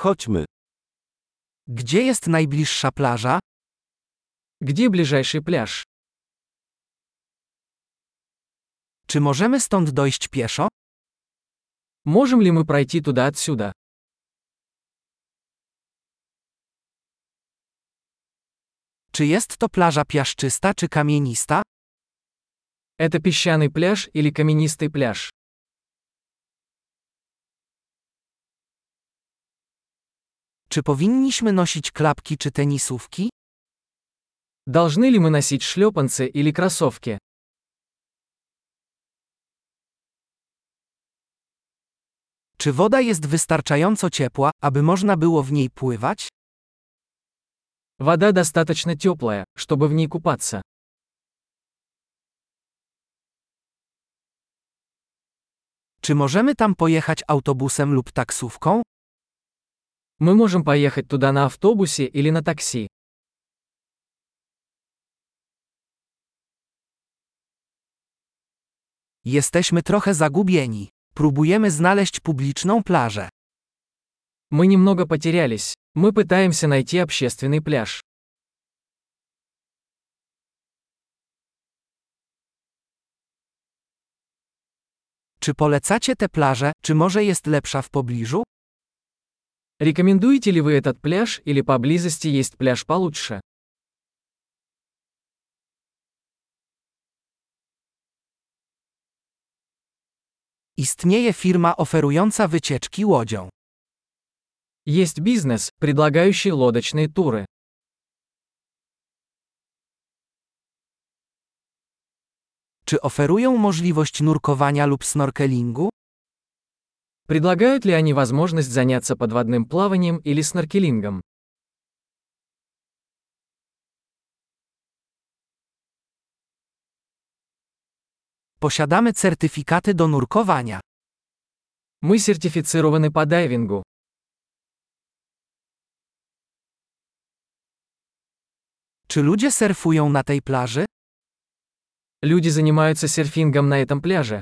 Chodźmy. Gdzie jest najbliższa plaża? Где ближайший пляж? Czy możemy stąd dojść pieszo? Можем ли мы пройти туда отсюда? Czy jest to plaża piaszczysta czy kamienista? Это песчаный пляж или каменистый пляж? Czy powinniśmy nosić klapki czy tenisówki? Должны ли мы носить шлепанцы или кроссовки? Czy woda jest wystarczająco ciepła, aby można było w niej pływać? Вода достаточно теплая, чтобы в ней купаться. Czy możemy tam pojechać autobusem lub taksówką? Мы можем поехать туда на автобусе или на такси. Jesteśmy trochę zagubieni. Próbujemy znaleźć publiczną plażę. Мы немного потерялись. Мы пытаемся найти общественный пляж. Czy polecacie tę plażę, czy może jest lepsza w pobliżu? Рекомендуете ли вы этот пляж или поблизости есть пляж получше? Istnieje firma oferująca wycieczki łodzią. Есть бизнес, предлагающий лодочные туры. Czy oferują możliwość nurkowania lub snorkelingu? Предлагают ли они возможность заняться подводным плаванием или сноркелингом? Posiadamy certyfikaty do nurkowania. Мы сертифицированы по дайвингу. Czy ludzie surfują na tej plaży? Люди занимаются серфингом на этом пляже.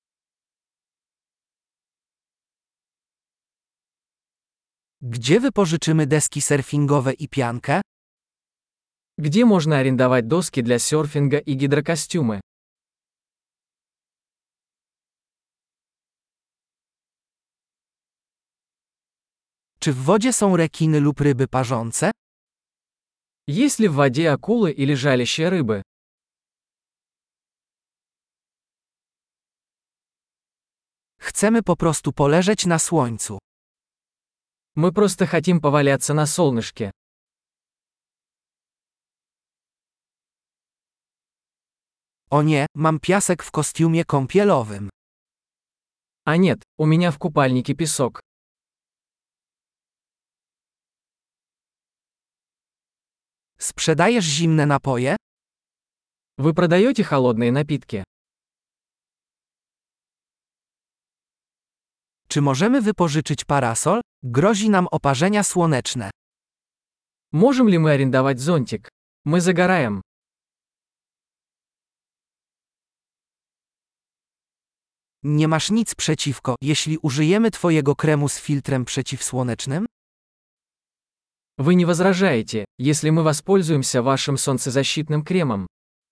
Gdzie wypożyczymy deski surfingowe i piankę? Где можно арендовать доски для серфинга и гидрокостюмы? Czy w wodzie są rekiny lub ryby parzące? Есть ли в воде акулы или жалящие рыбы? Chcemy po prostu poleżeć na słońcu. Мы просто хотим поваляться на солнышке. O nie, mam piasek w kostiumie kąpielowym. А нет, у меня в купальнике песок. Sprzedajesz zimne napoje? Вы продаете холодные напитки? Czy możemy wypożyczyć parasol? Grozi nam oparzenia słoneczne. Можем ли мы арендовать зонтик? Мы загораем. Nie masz nic przeciwko, jeśli użyjemy twojego kremu z filtrem przeciwsłonecznym? Вы не возражаете, если мы воспользуемся вашим солнцезащитным кремом?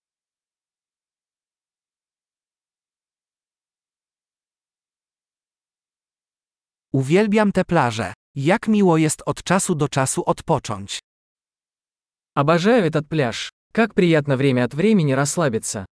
Uwielbiam te plaże. Jak miło jest od czasu do czasu odpocząć. Обожаю этот пляж. Как приятно время от времени расслабиться.